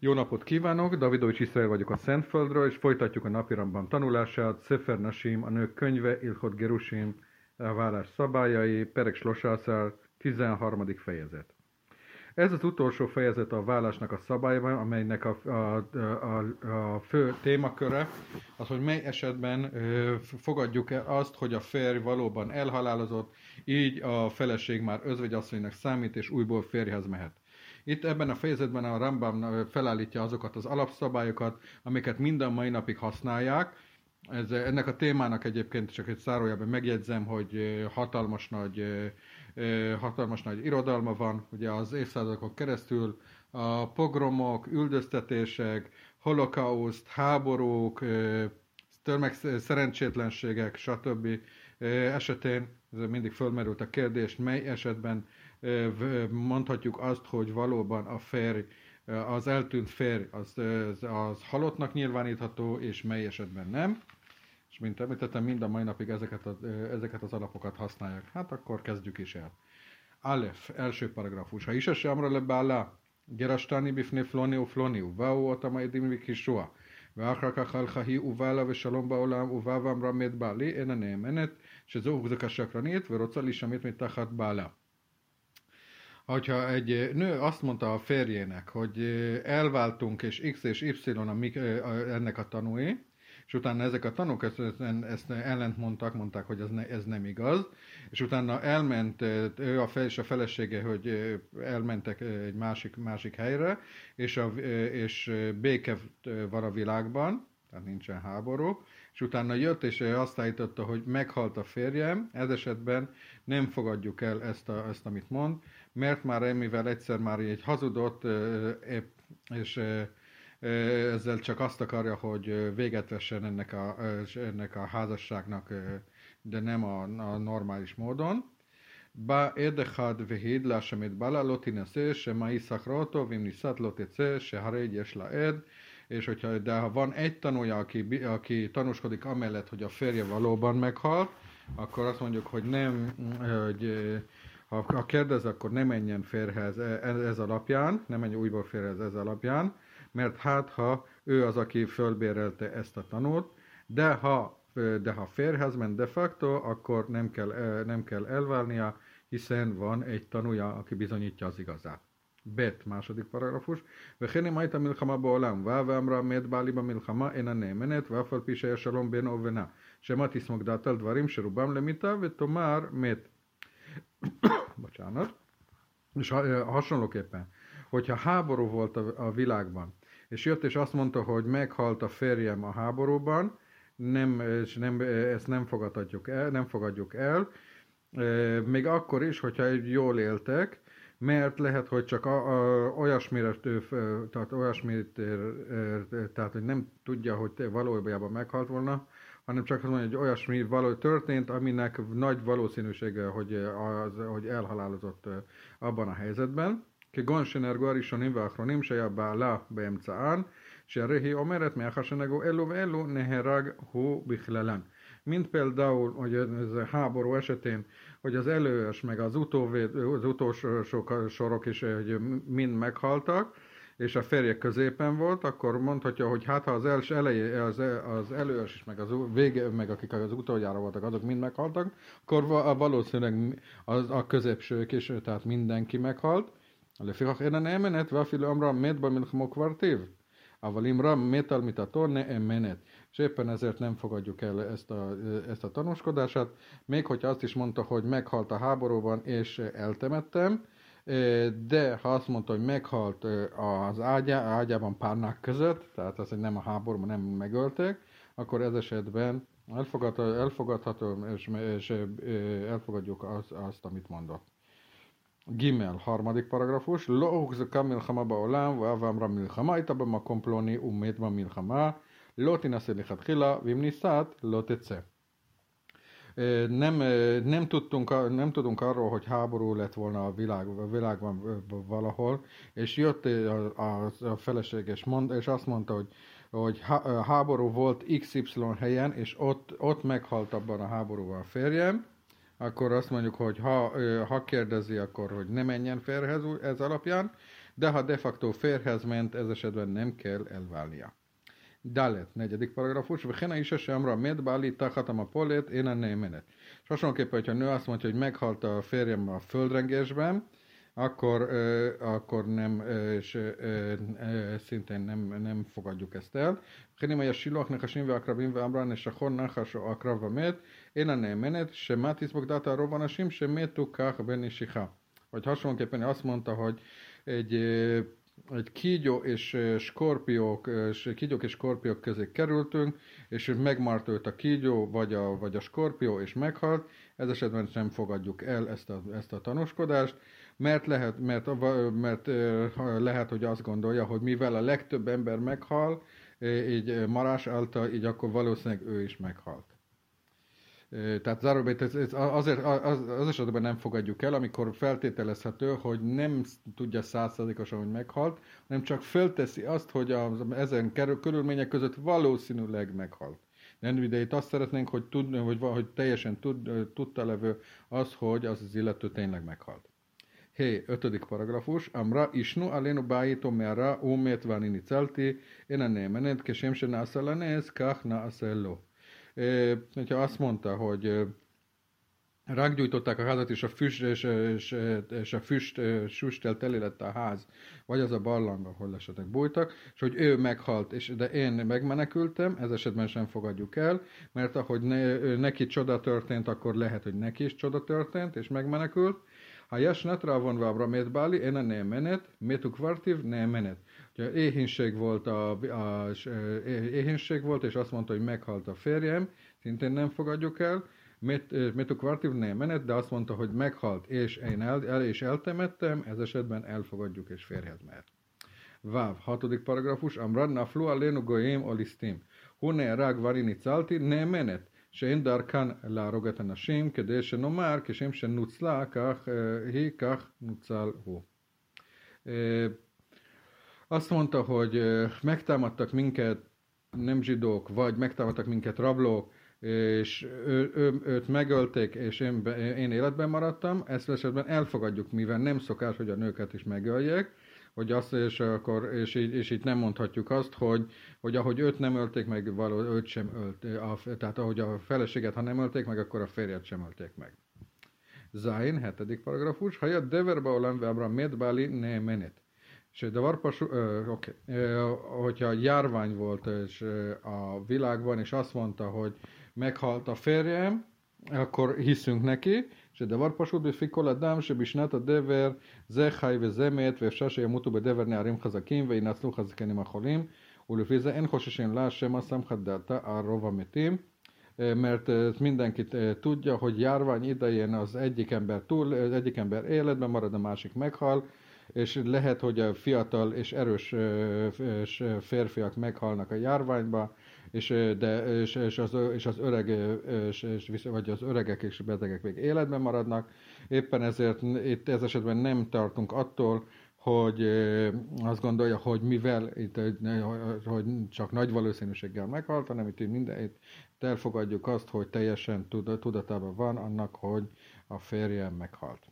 Jó napot kívánok, Davidovics Iszrael vagyok a Szentföldről, és folytatjuk a napirendben tanulását. Sefer Nashim, a nők könyve, Ilchot Gerushim, a vállás szabályai, Perek Slosásár, 13. fejezet. Ez az utolsó fejezet a vállásnak a szabályban, amelynek a fő témaköre az, hogy mely esetben fogadjuk el azt, hogy a férj valóban elhalálozott, így a feleség már özvegyasszonynak számít, és újból férjhez mehet. Itt ebben a fejezetben a Rambam felállítja azokat az alapszabályokat, amiket minden mai napig használják. Ennek a témának egyébként csak egy zárójelben megjegyzem, hogy hatalmas nagy irodalma van, ugye az évszázadokon keresztül a pogromok, üldöztetések, holokauszt, háborúk, szerencsétlenségek, stb. Esetén mindig fölmerült a kérdés, mely esetben mondhatjuk azt, hogy valóban a férj, az eltűnt férj az halottnak nyilvánítható, és mely esetben nem. És mint említettem, mind a mai napig ezeket az alapokat használják. Hát akkor kezdjük is el. Alef, első paragrafus. Ha is se amra le bála, gerastani bifne floni ufloni, uvau otama edim vikisua, ואחר כך הלכה היא ובעלה ושלום בעולם ובא ואמרה מת בעלי אינה נאמנת שזו הוחזקה שקרנית ורוצה להישמט מתחת בעלה. Hogyha egy nő azt mondta a férjének, hogy elváltunk és X és Y ennek a tanúi, és utána ezek a tanúk ezt ellent mondták, hogy ez nem igaz, és utána elment ő és a felesége, hogy elmentek egy másik helyre, és béke van a világban, tehát nincsen háború, és utána jött, és azt állította, hogy meghalt a férjem, ez esetben nem fogadjuk el ezt amit mond, mert már mivel egyszer már egy hazudott, és ezzel csak azt akarja, hogy véget vessen ennek a házasságnak, de nem a normális módon. Ba edechad vehid lásamet bala lotineszé, se mai szakrótó, vim niszat lotécé, se harégy és laed, és ha van egy tanúja, aki tanúskodik amellett, hogy a férje valóban meghalt, akkor azt mondjuk, hogy nem, ha kérdez, akkor ne menjen férjhez ez alapján, ne menjen újból férjhez ez alapján, mert ha ő az, aki fölbérelte ezt a tanút, de ha férjhez ment de facto, akkor nem kell elválnia, hiszen van egy tanúja, aki bizonyítja az igazát. Bet, második paragrafus. וכן אם הייתה מלחמה בעולם, ואמרה מת בעלי במלחמה אינה נאמנת, ואף על פי שהיה שלום בינו ובינה, שמא תסמוך דעתה על דברים שרובם למיתה, ותאמר מת. Bocsánat. És hasonlóképpen, hogyha háború volt a világban, és jött és azt mondta, hogy meghalt a férjem a háborúban, ezt nem fogadjuk el, még akkor is, hogyha jól éltek, mert lehet, hogy csak tehát hogy nem tudja, hogy valójában meghalt volna, hanem csak azt mondja, hogy olyasmi történt, aminek nagy valószínűsége, hogy elhalálozott abban a helyzetben. כגון שנהרגו הראשונים והאחרונים שהיה בעלה באמצען, שהרי היא אומרת מאחר שנהרגו אלו ואלו נהרג הוא בכללן. Mint például, hogy ez a háború esetén, hogy az előös meg az utolsó sorok is hogy mind meghaltak, és a férjek középen volt, akkor mondhatja, hogy hát ha az előös is, meg az vége, meg akik az utoljára voltak, azok mind meghaltak, akkor valószínűleg a középsők is, tehát mindenki meghalt. לפיכך אינה נאמנת, ואפילו אמרה מת במלחמו כבר טיב. אבל אם רע מת על מיתתו נאמנת. És éppen ezért nem fogadjuk el ezt a tanúskodását, még hogyha azt is mondta, hogy meghalt a háborúban és eltemettem, de ha azt mondta, hogy meghalt az ágyában párnák között, tehát az, hogy nem a háborúban nem megölték, akkor ez esetben elfogadható, és elfogadjuk azt, amit mondott. Gimel, harmadik paragrafus. לא הוחזקה מלחמה בעולם, ואב אמרה מלחמה הייתה במקום פלוני ומת במלחמה, לא תינשא לכתחילה, ואם נישאת, לא תצא. Nem tudunk arról, hogy háború lett volna a világban valahol, és jött a feleség, és azt mondta, hogy háború volt XY helyen, és ott meghalt abban a háborúban a férjem, akkor azt mondjuk, hogy ha kérdezi, akkor hogy ne menjen férjhez ez alapján, de ha de facto férjhez ment, ez esetben nem kell elválnia. Dalet, negyedik paragrafus, Vechena is sem amra medbáli tachatam a polet, én a némenet. És hasonlóképpen, hogyha a nő azt mondja, hogy meghalt a férjem a földrengésben, akkor nem, és szintén nem fogadjuk ezt el. Vechena a silóak nechasim ve akrabim ve amran, és a hon nachasó akrava met, én a némenet, se mátiszbok data rovanasim, se métu kach benisicha. Vagy hasonlóképpen azt mondta, hogy egy kígyók és skorpiók közé kerültünk, és megmart őt a kígyó, vagy a skorpió, és meghalt. Ez esetben sem fogadjuk el ezt a tanúskodást, mert lehet, hogy azt gondolja, hogy mivel a legtöbb ember meghal, így marás által, így akkor valószínűleg ő is meghalt. Tehát záróbét azért az esetben nem fogadjuk el, amikor feltételezhető, hogy nem tudja 100%-osan, hogy meghalt, hanem csak felteszi azt, hogy ezen körülmények között valószínűleg meghalt. De itt azt szeretnénk, hogy teljesen tudta levő az, hogy az illető tényleg meghalt. Hé, 5. paragrafus. Amra isnu alénu bájító merra ómét vánini celti, én a némenet, kesém se nászalanéz, kach nászelló. Hogyha azt mondta, hogy rággyújtották a házat, és a füsttel teli lett a ház, vagy az a barlang, ahol esetleg bújtak, és hogy ő meghalt, de én megmenekültem, ez esetben sem fogadjuk el, mert ahogy neki csoda történt, akkor lehet, hogy neki is csoda történt, és megmenekült. Ha jasnatra vonva abra métbáli, én a némenet, métukvartív némenet. Ugye éhínség volt, és azt mondta, hogy meghalt a férjem, szintén nem fogadjuk el. Métukvartív némenet, de azt mondta, hogy meghalt, és én eltemettem, ez esetben elfogadjuk, és férjhez mehet. Váv, 6. paragrafus, Amrad naflu alénu goyim olisztim. Hune rág varini calti némenet. שאין דרכן להרוג את הנשים, כדי שנאמר, כשם שנוצלה, כך נוצל הוא. Azt mondta, hogy megtámadtak minket nem zsidók, vagy megtámadtak minket rablók, és őt megölték, és én életben maradtam, ezt esetben elfogadjuk, mivel nem szokás, hogy a nőket is megöljék, hogy azt, és így nem mondhatjuk azt, hogy ahogy őt nem ölték meg, őt sem tehát ahogy a feleséget, ha nem ölték meg, akkor a férjet sem ölték meg. Zain, 7. paragrafus, ha jött deverba olam veabra medbáli ne menet. És hogyha járvány volt és a világban, és azt mondta, hogy meghalt a férjem, akkor hiszünk neki, שדבר פשוט בפי כל אדם שבשנת הדבר זה חי וזה מת ואפשר שימותו בדבר נערים חזקים וינצלו חזקנים החולים ולפי זה אין חוששים לה שמא סמכת דעתה על רוב המתים, mert mindenki tudja, hogy járvány idején az egyik ember életben marad, a másik meghal, és lehet, hogy a fiatal és erős férfiak meghalnak a járványba, és az öreg, vagy az öregek és betegek még életben maradnak. Éppen ezért itt ez esetben nem tartunk attól, hogy azt gondolja, hogy mivel hogy csak nagy valószínűséggel meghalt, hanem itt elfogadjuk azt, hogy teljesen tudatában van annak, hogy a férjem meghalt.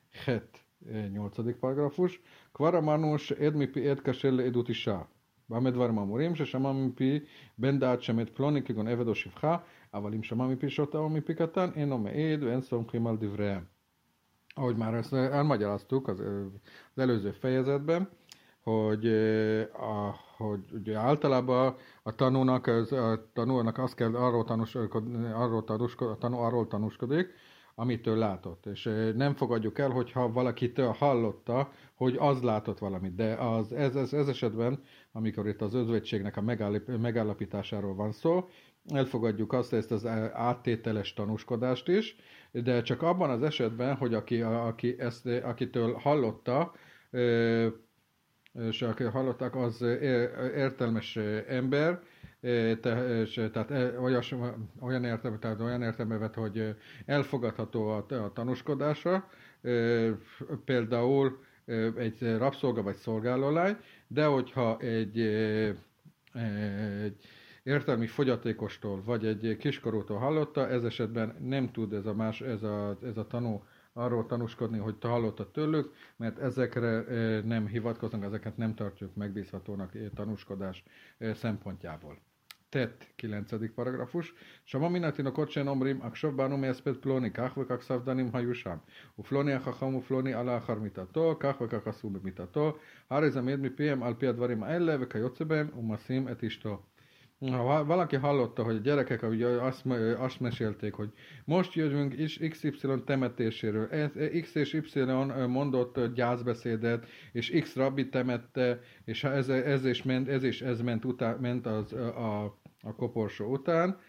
8. paragrafus. Kvara manus edmipi edkasel edutisha. במה דברים אמורים? ששמע מפי בן דעת שמת פלוני כגון עבד או שפחה, אבל אם שמע מפי שוטה או מפי קטן, אינו מעיד ואין סומכים על דבריהם. Ahogy már ezt elmagyaráztuk az előző fejezetben, hogy ugye általában a tanúnak azt kell arról tanúskodik, amitől látott. És nem fogadjuk el, hogyha valakitől hallotta, hogy az látott valamit. De ez esetben, amikor itt az özvegységnek a megállapításáról van szó, elfogadjuk ezt az áttételes tanúskodást is, de csak abban az esetben, hogy akitől hallotta, és aki hallották, az értelmes ember, tehát olyan értelme vett, hogy elfogadható a tanúskodása, például egy rabszolga vagy szolgálólány, de hogyha egy értelmi fogyatékostól vagy egy kiskorútól hallotta, ez esetben nem tud ez a tanú arról tanúskodni, hogy te hallottad tőlük, mert ezekre nem hivatkoznak, ezeket nem tartjuk megbízhatónak tanúskodás szempontjából. Tett, 9. paragrafus. Shama minatin okotsen omrim, akshav banu me'espet ploni, kach vekach savdanim hayu sham. Ufloni achacham ufloni ala achar mitato, kach vekach asu bemitato, הרי זה מעיד מפיהם על פי הדברים האלה וכיוצא בהם ומשים את אשתו. Ha valaki hallotta, hogy a gyerekek azt mesélték, hogy most jövünk XY temetéséről, X és Y mondott gyászbeszédet, és X rabbi temette, és ez ment a koporsó után,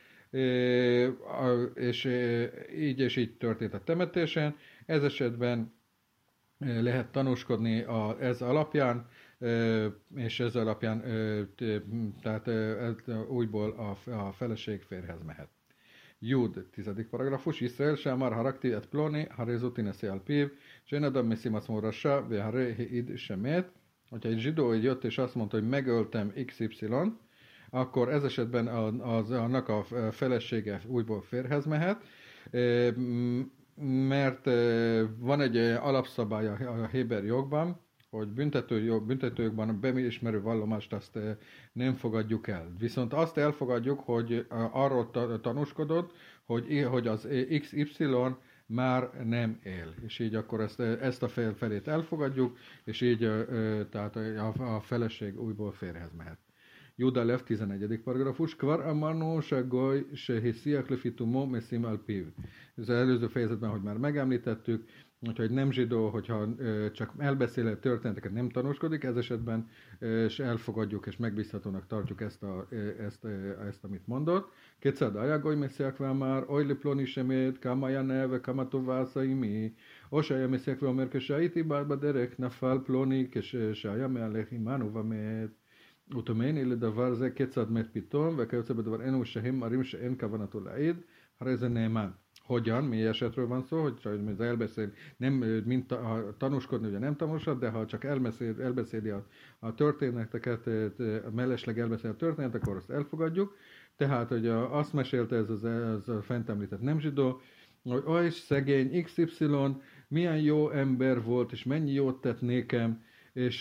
és így történt a temetésen. Ez esetben lehet tanúskodni ez alapján, és ez alapján tehát újból a feleség férjhez mehet. Jud, 10. paragrafus. Israel Sámar harakti et ploni, harézuti neszi al piv, sen adam messimas morassa, ve haré id semet. Hogyha egy zsidó jött és azt mondta, hogy megöltem XY, akkor ez esetben annak a felesége újból férjhez mehet, mert van egy alapszabály a héber jogban, hogy büntetőjogban a beismerő vallomást azt nem fogadjuk el. Viszont azt elfogadjuk, hogy arról tanúskodott, hogy az XY már nem él. És így akkor ezt a felét elfogadjuk, és így tehát a feleség újból férjhez mehet. Juda Lev, 11. paragrafus. Kvar amarnu sagoy sehisziak lefitumo mesim al piv. Ez az előző fejezetben, hogy már megemlítettük, hogyha egy nem zsidó, hogyha csak elbeszélő történeteket nem tanúskodik, ez esetben és elfogadjuk és megbízhatónak tartjuk ezt amit mondott. Kétszer dajagoy messiakvel már, oly ploni semét, kamaja neve, kamatovászai mi, osaja messiakvel merkesaiti bárba derek, nafal ploni, kesaja mealech imánu vamet. וטומני לדבר זה כיצד מת פתאום, וכיוצא בדבר אין שהם מראים שאין כוונתו להעיד, הרי זה נאמן. Hogyan, mi esetről van szó, hogy az elbeszél, nem mint tanúskodni, ugye nem tanúsod, de ha csak elbeszéli a történeteket, mellesleg elbeszél a történetet, akkor azt elfogadjuk. Tehát, hogy azt mesélte ez a fent említett nem zsidó, hogy oly szegény XY, milyen jó ember volt, és mennyi jót tett nékem, és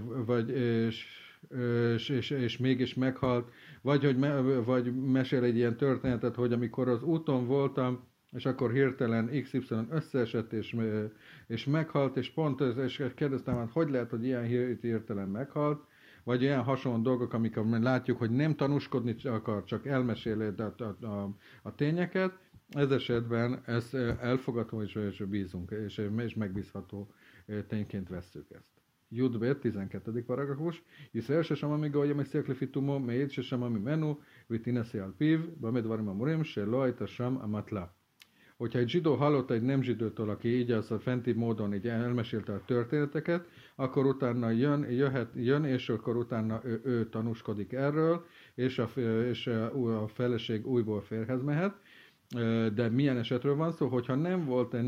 mégis meghalt, vagy mesél egy ilyen történetet, hogy amikor az úton voltam, és akkor hirtelen XY összeesett, és meghalt, és pont és kérdeztem, hogy lehet, hogy ilyen hirtelen meghalt, vagy ilyen hasonló dolgok, amikor látjuk, hogy nem tanúskodni akar, csak elmeséli a tényeket, ez esetben ezt elfogadható és bízunk, és megbízható tényként vesszük ezt. Judbet, 12. paragrafus. ישראל ששמע מגוי המסיק לפי תומו, מעיד ששמע ממנו, ותינשא על פיו, במה דברים אמורים, שלא הייתה שם אמתלה. Hogyha egy zsidó hallott egy nem zsidótól, aki így az a fenti módon így elmesélte a történeteket, akkor utána jön és akkor utána ő tanúskodik erről, és a feleség újból férjhez mehet. De milyen esetről van szó, hogyha nem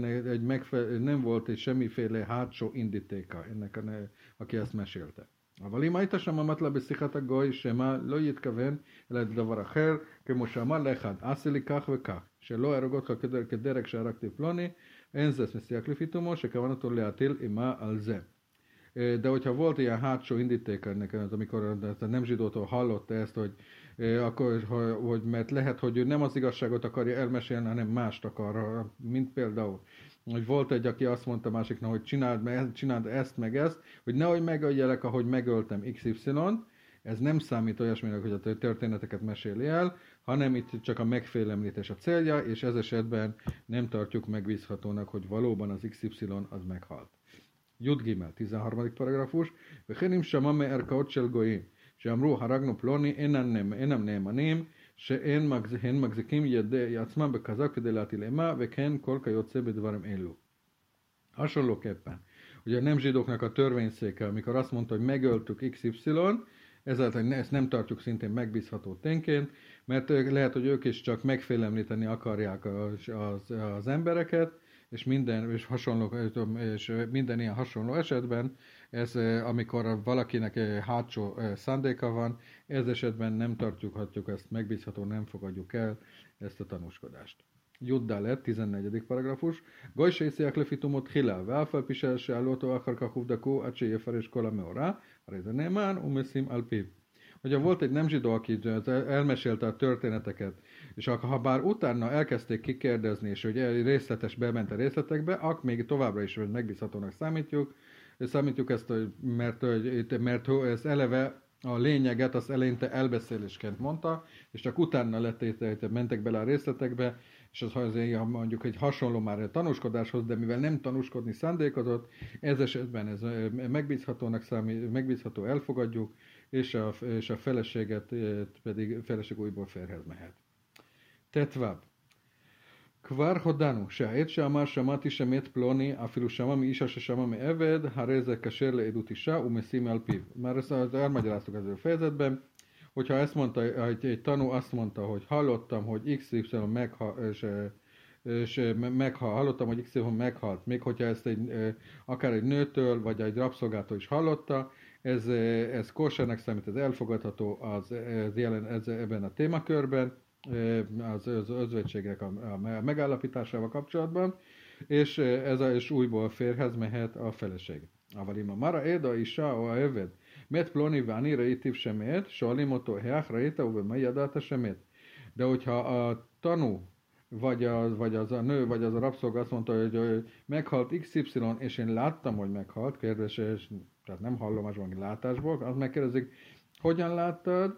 volt egy semmiféle hátsó indítéka ennek, aki ezt mesélte. אבל אם היית שם אמרת בשיחת הגוי שמה לא יתכוון אלא לדבר אחר, כמו שאמר לאחד, עשה לי כך וכך, שלא אהרוג אותך כדרג שהרגתי פלוני, אין זה מסיח לפי תומו, שכוונתו להטיל אימה על זה. De hogyha volt ilyen hátsó indítéka ennek, amikor a nem zsidótól hallotta ezt, hogy mert lehet, hogy ő nem az igazságot akarja elmesélni, hanem mást akar, mint például, hogy volt egy, aki azt mondta másiknak, hogy csináld ezt meg ezt, hogy nehogy megöljelek, ahogy megöltem XY-t, ez nem számít olyasminek, hogy a történeteket meséli el, hanem itt csak a megfélemlítés a célja, és ez esetben nem tartjuk megbízhatónak, hogy valóban az XY az meghalt. Jud Gimel, 13. paragrafus, וכן אם שמע מערכאות של גויים, שאמרו הרגנו פלוני, אינם נאמנים, שאין מחזיקים ידי עצמם בכזב כדי להטיל אימה, וכן כל כיוצא בדברים אלו. Hasonlóképpen, ugye a nem zsidóknak a törvényszéke, amikor azt mondta, hogy megöltük XY, ezáltal ezt nem tartjuk szintén megbízható tényként, mert lehet, hogy ők is csak megfélemlíteni akarják az embereket, és minden ilyen hasonló esetben, ez amikor valakinek hátsó szándéka van, ez esetben nem tartjuk ezt megbízható, nem fogadjuk el ezt a tanúskodást. Juddalet, 14. paragrafus. Gajsésziák lefitumot hilel, válfalpisel se állótó akarka huvdakó, a cséjeferes kola meorá, rezenémán, umeszim alpib. Hogyha volt egy nem zsidó, aki elmesélte a történeteket, és ha bár utána elkezdték kikérdezni, és hogy részletes bement a részletekbe, akkor még továbbra is megbízhatónak számítjuk ezt, mert ez eleve a lényeget az eleinte elbeszélésként mondta, és csak utána mentek bele a részletekbe, és az mondjuk egy hasonló már a tanúskodáshoz, de mivel nem tanúskodni szándékozott, ez esetben ez megbízhatónak számít, megbízható, elfogadjuk, és a feleséget pedig feleség újból férhez mehet. Tetvább. כבר הודענו שהעת שאמר שמעתי שמת פלוני אפילו שמע מאישה ששמע מעבד, הרי זה כשר לעדות אישה ומשים על פיו. Már ezt elmagyaráztuk az ő fejezetben, hogyha ezt mondta, egy tanú azt mondta, hogy hallottam, hogy XY hallottam, hogy XY meghalt, még hogyha ezt akár egy nőtől, vagy egy rabszolgától is hallotta, ez kósernek számít, ez elfogadható ebben a témakörben, az özvegységek a megállapításával kapcsolatban, és és újból férhez mehet a feleség. אבל mara éda isá o eved, met ploni váni reitív semét, salimotó heach reita, ube jadata semét. De hogyha a tanú, vagy az a nő, vagy az a rabszolga azt mondta, hogy meghalt XY, és én láttam, hogy meghalt, kérdés, tehát nem hallomás, valami látásból, azt megkérdezik, hogyan láttad,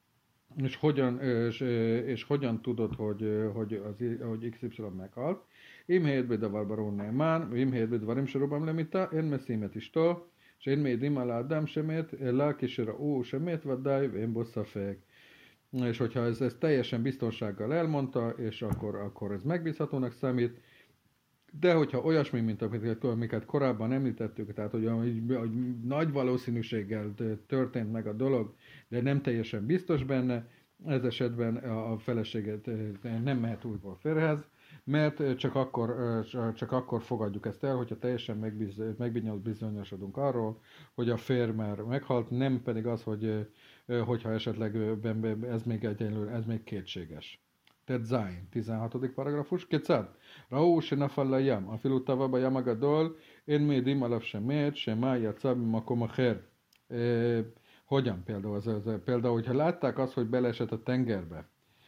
és hogyan tudod, hogy XY meghalt. Im helyet bedavar barón nemán, im helyet bedvarim serobam lemita, én meszímet istól, és én médim alá Adam semét, lelkisera ó semét, vadáj, én bosszafek. És hogyha ez teljesen biztonsággal elmondta, és akkor ez megbízhatónak számít, de hogyha olyasmi, mint amiket korábban említettük, tehát hogy nagy valószínűséggel történt meg a dolog, de nem teljesen biztos benne, ez esetben a feleséget nem mehet újból férhez, mert csak akkor fogadjuk ezt el, hogyha teljesen megbizonyosodunk arról, hogy a férj már meghalt, nem pedig az, hogyha esetleg ez még kétséges. Tehát Zain, 16. paragrafus. Kecad? Raú se nafal layam, afilu tava bayam agadol, én médim alav semet, sema yatsa bimakom acher. Hogyan például? Például, hogyha látták azt, hogy beleesett a tengerbe,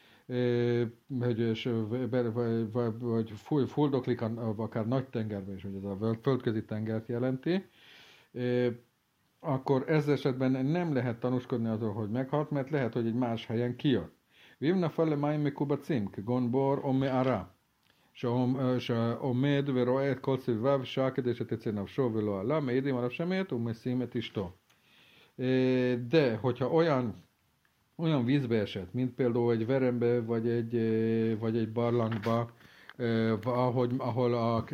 vagy fuldoklik akár nagy tengerbe is, hogy ez a földközi tengert jelenti, akkor ez esetben nem lehet tanúskodni azon, hogy meghalt, mert lehet, hogy egy más helyen kijött. ואם נפל למים מקובצים, כגון בור או מערה, שעומד ורואה את כל סביביו שעה כדי שתצא נפשו ולא עלה, מעידים עליו שמת ומשים את אשתו. De, hogyha olyan vízbe esett, mint például egy verembe, vagy egy barlangba, ahol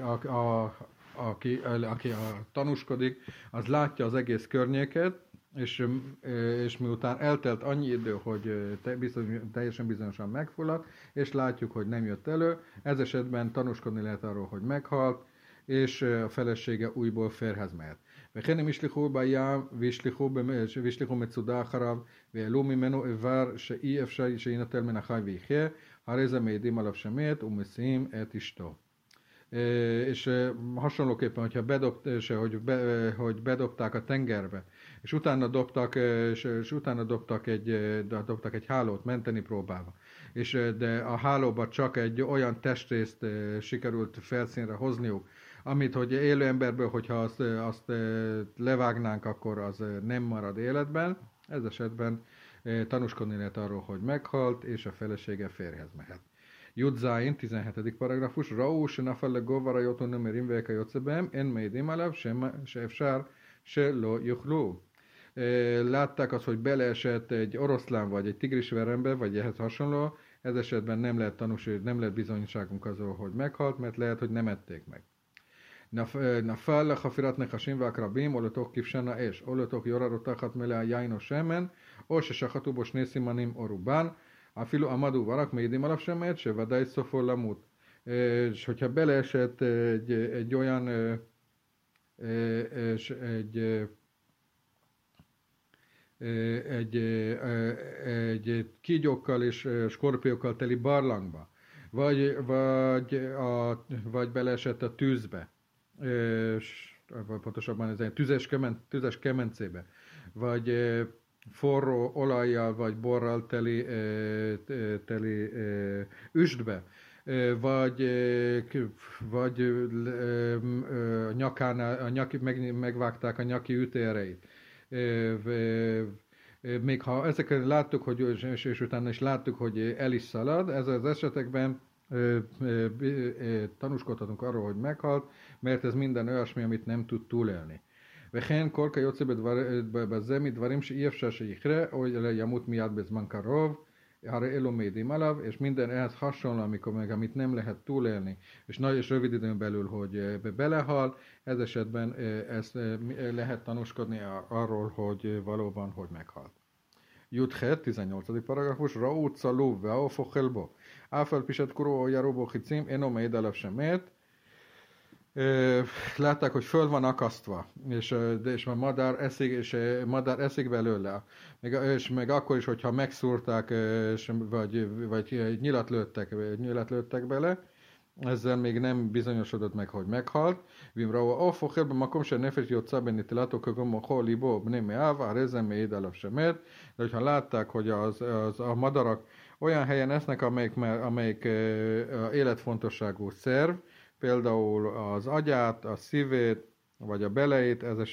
aki tanúskodik, az látja az egész környéket, és miután eltelt annyi idő, hogy teljesen bizonyosan megfulladt, és látjuk, hogy nem jött elő, ez esetben tanúskodni lehet arról, hogy meghalt, és a felesége újból férhez mehet. וכן הם ישלחו בים וישלחו מצודה אחריו ויעלו ממנו איבר שאי אפשר שיינטל מן החי ויחיה, הרי זה מעידים עליו שמת ומשיאים את אשתו. És hasonlóképpen, hogyha hogy bedobták a tengerbe, és utána dobtak egy hálót menteni próbálva, de a hálóba csak egy olyan testrészt sikerült felszínre hozniuk, amit, hogy élő emberből, hogyha azt levágnánk, akkor az nem marad életben, ez esetben tanúskodni lehet arról, hogy meghalt, és a felesége férhez mehet. Judzáin, 17. paragrafus, Raú se nafal le govara jotun nömerim veka jocebem, en meidim alav se efsár se lo juhló. Látták azt, hogy beleesett egy oroszlán, vagy egy tigrisverembe, vagy ehhez hasonló, ez esetben nem lehet bizonyságunk azról, hogy meghalt, mert lehet, hogy nem ették meg. נפל לחפירת נחשים ועקרבים, או לתוך כבשן האש, או לתוך יורה רותחת מלאה יין או שמן, או ששחטו בו שני סימנים או רובן, אפילו עמדו ורק מעידים עליו שמת, שוודאי סופו למות. És hogyha beleesett egy olyan egy kígyókkal és skorpiókkal teli barlangba, vagy beleesett a tűzbe, vagy pontosabban ez egy tüzes kemencébe, vagy forró olajjal vagy borral teli üstbe, vagy, megvágták a nyaki ütéreit. Még ha ezeket láttuk, hogy, és utána is láttuk, hogy el is szalad, ez az esetekben tanúskodhatunk arról, hogy meghalt, mert ez minden olyasmi, amit nem tud túlélni. וכן כל כיוצא בזה מדברים שאי אפשר שיקרה, או ימות מיד בזמן קרוב, הרי אלו מעידים עליו, és minden ehhez hasonló, amikor meg amit nem lehet túlélni, és rövid időn belül, hogy belehal, ez esetben ezt lehet tanúskodni arról, hogy valóban, hogy meghalt. Juthet, 18. paragrafus, ראו צלוב והעוף אוכל בו, אף על פי שדקרו או ירו בו חיצים, אינו מעיד עליו שמת. Látták, hogy föl van akasztva, és a madár eszik belőle. És meg akkor is, hogyha megszúrták, vagy nyilat lőttek bele, ezzel még nem bizonyosodott meg, hogy meghalt. Vimraua ofochel b'makom she'nefesh yotza b'nitilato kagom mocho libo b'nei me'av, ha'rezem me'id alav shemet. De hogyha látták, hogy a madarak olyan helyen esznek, amelyik életfontosságú szerv, például az agyát, a szívét, vagy a beleit, ez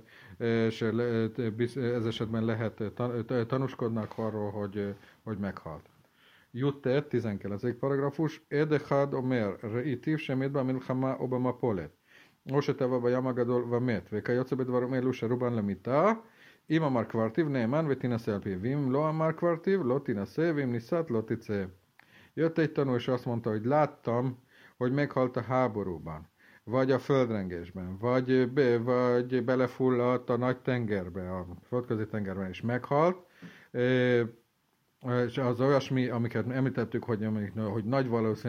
esetben lehet tanúskodnak arról, hogy meghalt. Jutte, 19. paragrafus, Edechad omer, ראיתיו שמת במלחמה או במפולת, או שטבע בים הגדול ומת, וכיוצא בדברים אלו שרובן למיתה, אם אמר קברתיו נאמן ותינשא על פיו, ואם לא אמר קברתיו לא תינשא, ואם נישאת לא תצא. Jött egy tanú, és azt mondta, hogy láttam, hogy meghalt a háborúban, vagy a földrengésben, vagy belefulladt a nagy tengerbe, a földközi tengerben is meghalt, és az olyasmi, amiket említettük, hogy nagy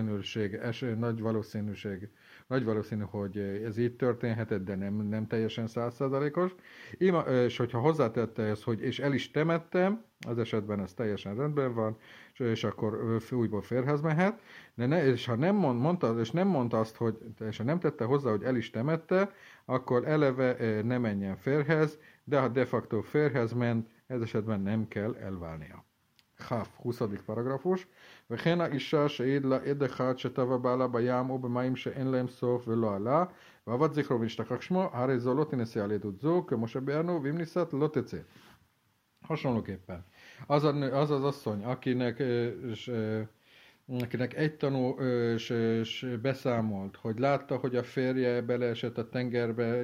valószínű, hogy ez így történhetett, de nem teljesen 100%-os. És hogyha hozzátette ezt, hogy és el is temettem, az esetben ez teljesen rendben van, és akkor újból férhez mehet, és ha nem mondta azt, hogy, és ha nem tette hozzá, hogy el is temette, akkor eleve ne menjen férhez, de ha de facto férhez ment, ez esetben nem kell elválnia. Háf, 20. paragrafus. וכן האישה שהעיד לה עד אחד שטבע בעלה בים או במים שאין להם סוף ולא עלה, ועבד זכרו ונשתכח שמו, הרי זו לא תינשא על עדות זו, כמו שביארנו, ואם נישאת לא תצא. Hasonlóképpen. Az az asszony, akinek egy tanú beszámolt, hogy látta, hogy a férje beleesett a tengerbe,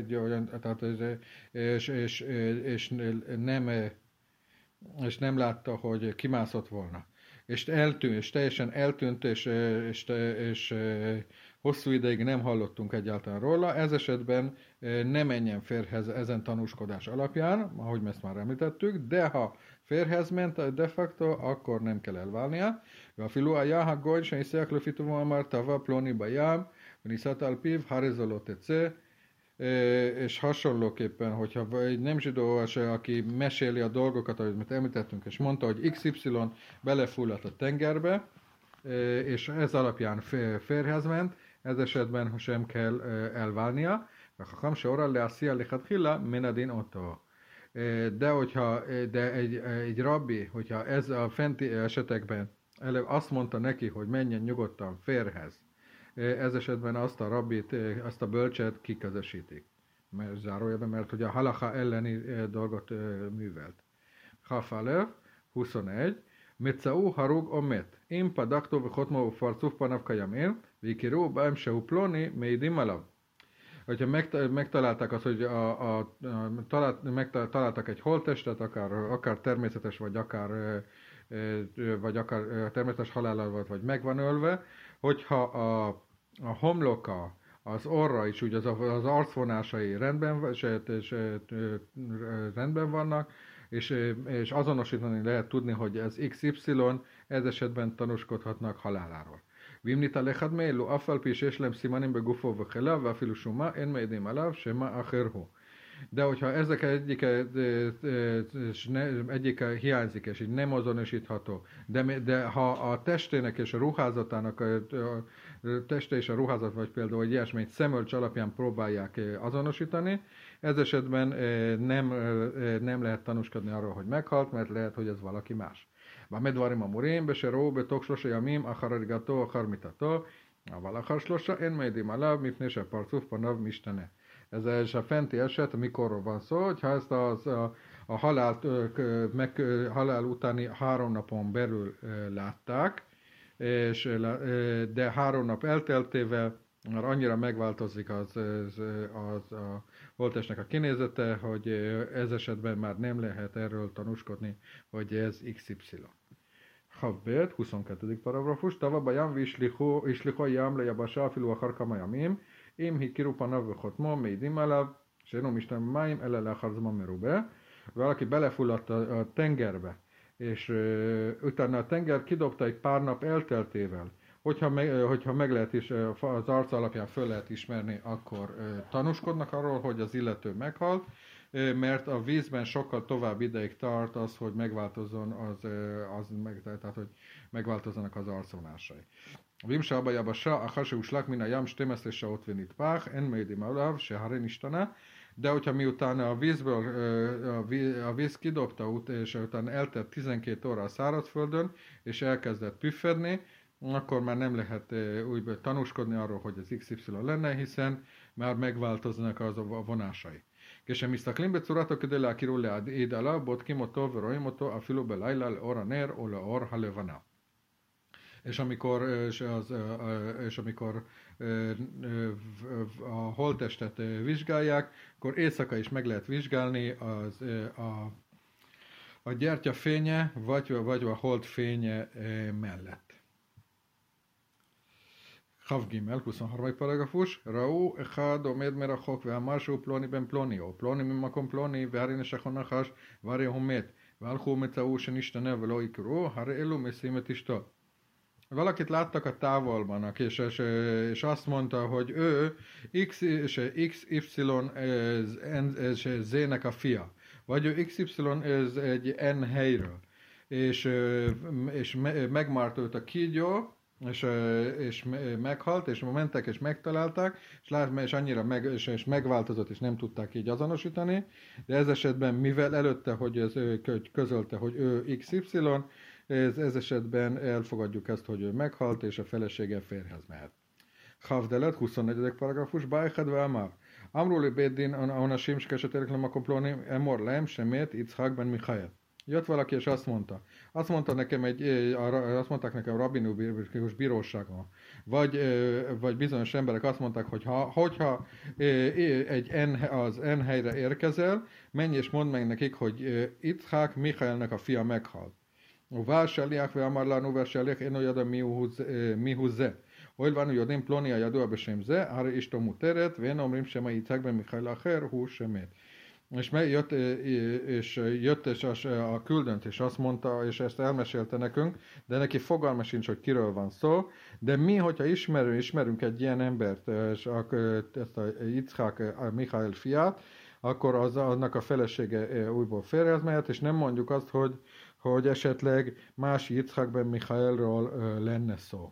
és nem látta, hogy kimászott volna. És teljesen eltűnt, és hosszú ideig nem hallottunk egyáltalán róla. Ez esetben ne menjen férhez ezen tanúskodás alapján, ahogy ezt már említettük, de ha férhez ment de facto, akkor nem kell elválnia. ואפילו היה הגוי שניסח לפי טובו אמר טבע פלוני בים, ונישאת על פיו, הרי זו לא תצא. És hasonlóképpen, hogyha egy nem zsidó, aki meséli a dolgokat, amit említettünk, és mondta, hogy XY belefulladt a tengerbe, és ez alapján férhez ment, ez esetben sem kell elválnia. וחכם שהורה להסיע לכתחילה מן הדין אותו. De egy rabbi, hogyha ez a fenti esetekben azt mondta neki, hogy menjen nyugodtan férhez, ez esetben azt a rabbit, azt a bölcset kiközösítik. Zárójelben, mert hogy a halacha elleni dolgot művelt. Hafalev, 21. Metszau harug omet. Im padakto vechotmo ufarcuf panav kajamin, vikiru baem seu ploni meidim alav. Hogyha megtalálták azt, hogy megtaláltak egy holttestet, akár természetes, vagy akár természetes halállal volt, vagy meg van ölve, hogyha a homloka, az orra is, úgy az arcvonásai rendben vannak, és azonosítani lehet tudni, hogy ez XY, ez esetben tanúskodhatnak haláláról. Vimnita lechad meelu, affal pi שיש להם סימנים בגופו וכליו, ואפילו שומה, אין מעידים עליו, שמה אחר הוא. De hogyha ezek egyike hiányzik, és így nem azonosítható, de ha a testének és a ruházatának, a teste és a ruházat, vagy például egy ilyesmit szemölcs alapján próbálják azonosítani, ez esetben nem lehet tanúskodni arról, hogy meghalt, mert lehet, hogy ez valaki más. במה דברים אמורים? בשירו בתוך 3 ימים אחר הריגתו אחר מיתתו, אבל אחר 3 אין מעידים עליו מפני שהפרצוף פניו משתנה. Ez a fenti eset, mikorról van szó, hogyha ezt a halál utáni 3 napon belül látták, de 3 nap elteltével már annyira megváltozik a holttestnek a kinézete, hogy ez esetben már nem lehet erről tanúskodni, hogy ez XY. Havbet, 22. paragrafus, Tava bajam vislicho jam lejabasá afilu achar kama yamim, im hikiru panav vechotmo meidim alav, senom isten máim elele achar zman merube. Valaki belefulladt a tengerbe, és utána a tenger kidobta egy pár nap elteltével, hogyha meg lehet is, az arc alapján föl lehet ismerni, akkor tanúskodnak arról, hogy az illető meghalt, mert a vízben sokkal tovább ideig tart az, hogy megváltozzon tehát hogy megváltozzanak az arcvonásai. ואם שעה ביבשה אחר שהושלך מן הים 12 שעות ונטבח, אין מעידים עליו שהרי נשתנה, de hogyha miután a víz kidobta, és utána eltelt 12 óra a szárazföldön, és elkezdett püffedni, akkor már nem lehet úgy tanúskodni arról, hogy az XY lenne, hiszen már megváltoznak az a vonásai. כשמסתכלים בצורתו כדי להכירו להעיד עליו, בודקים אותו ורואים אותו אפילו בלילה לאור הנר או לאור הלבנה. És amikor a holttestet vizsgálják, akkor éjszaka is meg lehet vizsgálni a gyertya fénye, vagy a hold fénye mellett. כ"ג, 23 פרגפוש, ראו אחד עומד מרחוק ואמר שהוא פלוני בן פלוני, או פלוני ממקום פלוני, והרי נשכו נחש, והרי הוא מת, והלכו ומצאו שנשתנה ולא יקראו, הרי אלו משים את אשתו. Valakit láttak a távolban, és azt mondta, hogy ő XY ez Z-nek a fia, vagy ő XY ez egy N helyről, és megmárt őt a kígyó, és meghalt, és mentek és megtalálták, és annyira és megváltozott, és nem tudták így azonosítani, de ez esetben, mivel előtte, hogy ő közölte, hogy ő XY, ez esetben elfogadjuk ezt, hogy ő meghalt, és a felesége férjhez mehet. Havdelet, 24. paragrafus, Bájhed Vámár. Amruli Béddin, Aonasim, Skeseterek Lemakom Ploni, Emor Lem, Semét, Itzhak ben Michael. Jött valaki, és azt mondta nekem azt mondták nekem rabinikus bíróságon, vagy bizonyos emberek azt mondták, hogy hogyha az N helyre érkezel, menj és mondd meg nekik, hogy Itzhak Michaelnek a fia meghalt. ובא שליח ואמר לנו, והשליח אינו ידע מיהו זה. הואיל ואנו יודעים פלוני הידוע בשם זה, הרי אשתו מותרת, ואין אומרים שמה יצחק בן מיכאל אחר הוא שמת. És jött a küldönt, és azt mondta, és ezt elmesélte nekünk, de neki fogalma sincs, hogy kiről van szó, de mi, hogyha ismerünk egy ilyen embert, ezt a Yitzhak Michael fiát, akkor annak a felesége újból férjhez mehet, és nem mondjuk azt, hogy esetleg más Yitzhak ben Michaelról lenne szó.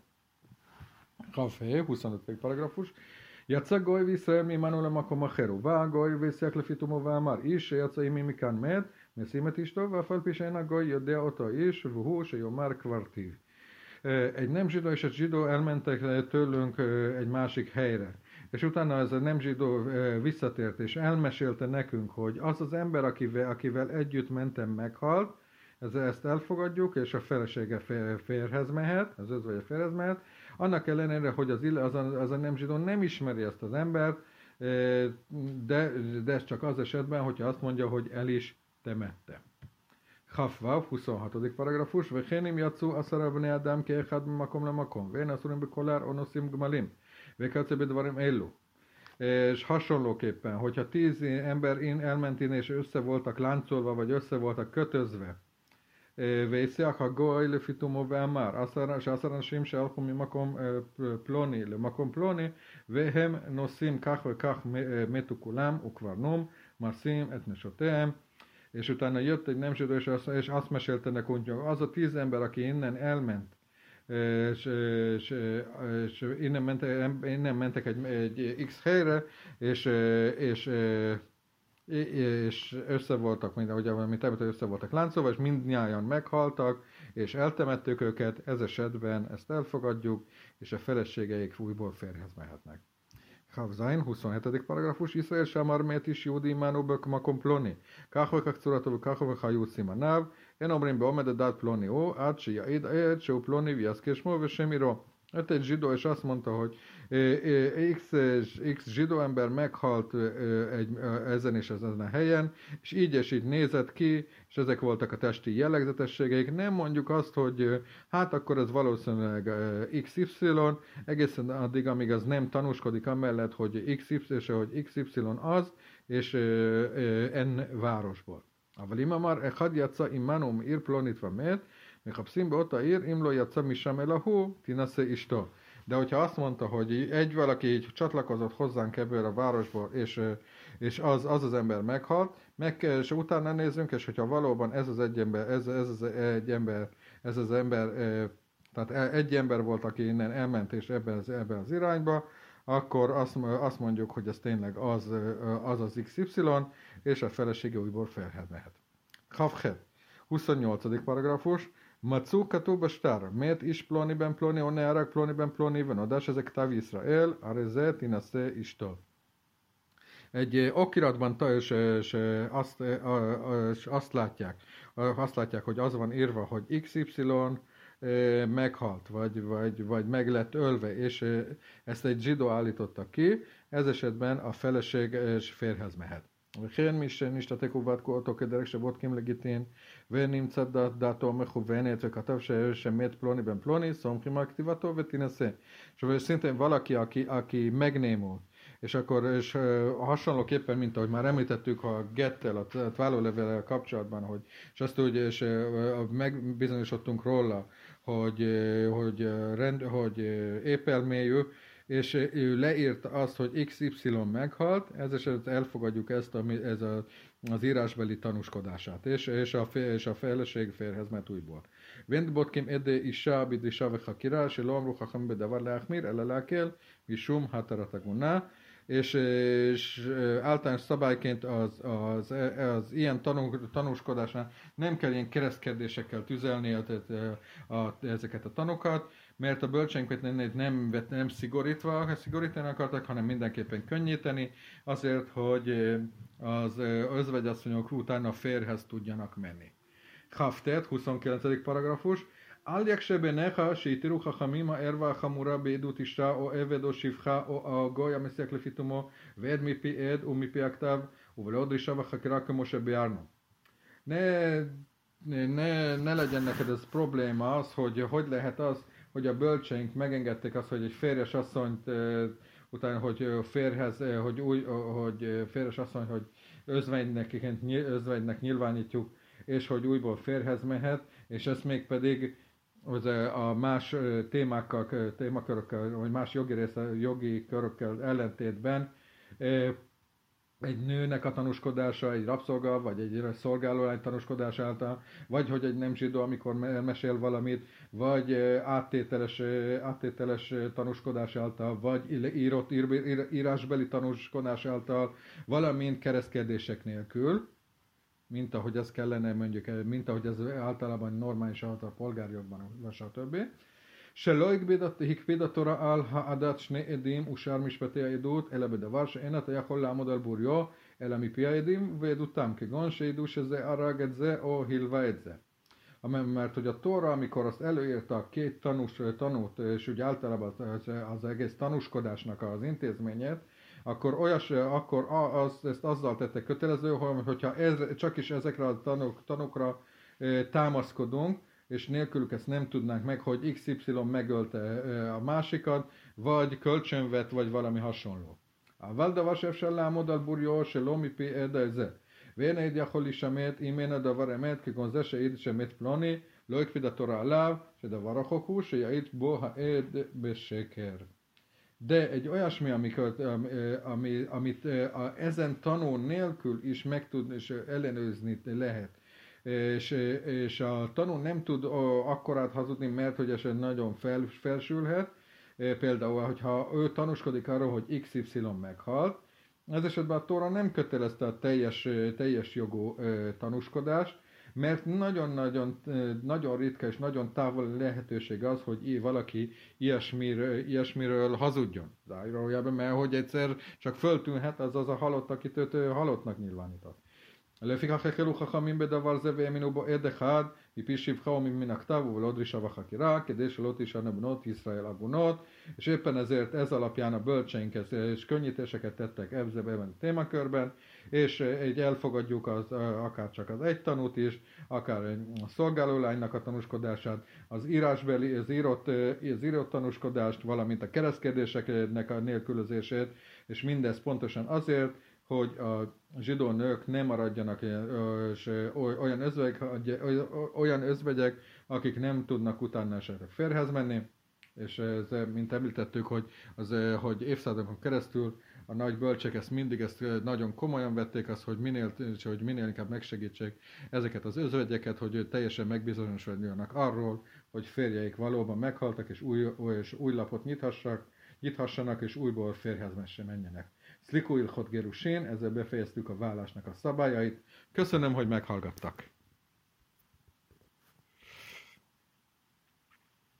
Kafé, 25. paragrafus. יצא גוי וישראל מעמנו למקום אחר, ובא גוי והשיח לפי תומו ואמר, איש שיצא עמי מכאן מת, משים את אשתו, ואף על פי שאין הגוי יודע אותו איש, והוא שיאמר קברתיו. Egy nem zsidó és egy zsidó elmentek tőlünk egy másik helyre. És utána ez a nem zsidó visszatért, és elmesélte nekünk, hogy az az ember, akivel együtt mentem, meghalt, ezt elfogadjuk, és a felesége férhez mehet, az vagy a férhez mehet, annak ellenére, hogy az a nem zsidó nem ismeri ezt az embert, de ez csak az esetben, hogyha azt mondja, hogy el is temette. Chafvav, 26. paragrafus, Vechenim jatszú aszara bnei adam keechad makom lemakom, vén aszurim bekolár onoszim gmalim, vékatsze bedvarim ellu. És hasonlóképpen, hogyha 10 ember elment innen, és össze voltak láncolva, vagy össze voltak kötözve, ויצח הגוי לפי תומו ואמר, 10 אנשים שהלכו ממקום פלוני למקום פלוני, והם נוסעים כך וכך מתו כולם, וכבר נום, Marszim, etnesotem, és utána jött egy nem zsidó, és azt mesélte nekünk, hogy az a 10 ember, aki innen elment, és innen mentek egy X helyre, és össze voltak, mint össze voltak láncolva, és mindnyájan meghaltak, és eltemettük őket, ez esetben ezt elfogadjuk, és a feleségeik újból férjhez mehetnek. Havzain, 27. paragrafus, Israel Samar Met is Júdi Imánóbök Makom Ploni. Káhovekak Curatov, Káhovek Júci Manáv, én omrim be Omededat Ploni ó, Ácsi Jaid, Csó Ploni, Viaszkésmó, Vesemiro. Öt egy zsidó, és azt mondta, hogy X zsidó ember meghalt ezen és ezen a helyen, és így nézett ki, és ezek voltak a testi jellegzetességeik. Nem mondjuk azt, hogy hát akkor ez valószínűleg XY, egészen addig, amíg az nem tanúskodik amellett, hogy XY az, és N városból. אבל אם אמר אחד יצא עמנו מעיר פלונית ומת, מחפשים באותה עיר, אם לא יצא משם אלא הוא, תינשא אשתו. De hogyha azt mondta, hogy egy valaki így csatlakozott hozzánk ebből a városból, és az ember meghalt, és utána nézzünk, és hogyha valóban ez az ember, tehát egy ember volt, aki innen elment, és ebben az irányba, akkor azt mondjuk, hogy ez tényleg az XY, és a felesége újból férjhez mehet. Havchet, 28. paragrafus, Macu katub star, met is ploni ben ploni, onearak ploni ben ploni, venodas ezek tav Israel, areze tinase istol. Egy okiratban azt látják, hogy az van írva, hogy XY meghalt, vagy meg lett ölve, és ezt egy zsidó állította ki, ez esetben a feleség férjhez mehet. וכן מי שנשתתק ובת אותו כדרך שבודקים לגיטין ונמצא דעתו מכוונת וכתב שמת פלוני בן פלוני, סומכים על כתיבתו ותינשא. És szintén valaki, aki megnémul, és hasonlóképpen, mint ahogy már említettük a gettel, a vállólevéllel kapcsolatban, és azt úgy, és megbizonyosodtunk róla, hogy épelmélyű, és ő leírta azt, hogy XY meghalt, ez esetben elfogadjuk ezt az írásbeli tanúskodását, és a feleség férhez ment újból. Vent botkim ede isha bidisha vechakira, se lo amru chacham bedavar leachmir, ele leakel, mishum hatarataguna, és általános szabályként az ilyen tanúskodásnál nem kell ilyen keresztkedésekkel tüzelni ezeket a tanokat, mert a bölcseink nem szigorítani akartak, hanem mindenképpen könnyíteni, azért, hogy az özvegyasszonyok utána a férjhez tudjanak menni. Haftet, 29. paragrafus. Al yakshe necha sheitiru chachamim ha'erva ha'chamura be'edut isha o eved o shivcha o goy המסיק לפי תומו ועד מפי עד ומפי הכתב ובלא דרישה וחקירה כמו שביארנו. Ne legyen neked ez probléma az, hogy lehet az, hogy a bölcseink megengedték azt, hogy egy férjes asszonyt utána, hogy férjes asszony, hogy özvegynek nyilvánítjuk, és hogy újból férjhez mehet, és ezt még pedig a más témakörökkel, vagy más jogi körökkel ellentétben egy nőnek a tanúskodása, egy rabszolga, vagy egy szolgálólány tanúskodás által, vagy hogy egy nem zsidó, amikor mesél valamit, vagy áttételes tanúskodás által, vagy írásbeli tanúskodás által, valamint keresztkedések nélkül, mint ahogy ez kellene, mint ahogy ez általában normális által polgárjogban, vagy stb. שלא הקפיד התורה על העדת שני עדים ושאר משפטי העדות, אלא בדבר שאין אתה יכול לעמוד על בוריו, אלא מפי העדים ועדותם, כגון שידעו שזה הרג את זה או הלווה את זה. Mert hogy a Tóra, amikor azt előírta a két tanút, és úgy általában az egész tanúskodásnak az intézményét, akkor ezt azzal tette kötelező, hogyha csak is ezekre a tanúkra támaszkodunk, és nélkülük ezt nem tudnánk meg, hogy XY megölte a másikat, vagy kölcsönvet, vagy valami hasonló. אבל דבר שאפשר לעמוד על בוריו שלא מפי עד זה. ואין עד יכול להישמט אם אין הדבר אמת, כגון זה שהעיד שמת פלוני, לא הקפיד התורה עליו, שדבר רחוק הוא שיעיד בו העד בשקר. De egy olyasmi, amit ezen tanú nélkül is meg tud és ellenőrizni lehet. És a tanú nem tud akkorát hazudni, mert hogy esetleg nagyon felsülhet. Például, hogyha ő tanúskodik arról, hogy XY meghalt, ez esetben a Tóra nem kötelezte a teljes jogú tanúskodást, mert nagyon ritka és nagyon távoli lehetőség az, hogy valaki ilyesmiről hazudjon. Zárójelben, mert hogy egyszer csak föltűnhet az a halott, akit őt halottnak nyilvánított. לפיכך החלו חכמים בדבר זה והאמינו בו עד אחד מפי שפחה ומן הכתב ולא דרישה וחקירה כדי שלא תישארנה בנות ישראל עגונות, és éppen ezért ez alapján a bölcseink és könnyítéseket tettek ebben a témakörben, és így elfogadjuk akár csak az egy tanút is, akár a szolgálólánynak a tanúskodását, az írásbeli, az írott tanúskodást, valamint a keresztkérdéseknek a nélkülözését, és mindez pontosan azért, hogy a zsidó nők ne maradjanak olyan özvegyek, akik nem tudnak utána esetleg férjhez menni, és ez, mint említettük, hogy évszázadokon keresztül a nagy bölcsek ezt nagyon komolyan vették, hogy minél inkább megsegítsék ezeket az özvegyeket, hogy teljesen megbizonyosodjanak arról, hogy férjeik valóban meghaltak, és új lapot nyithassanak, és újból férjhez menjenek. Szliku ilchot gerusén, ezzel befejeztük a vállásnak a szabályait. Köszönöm, hogy meghallgattak!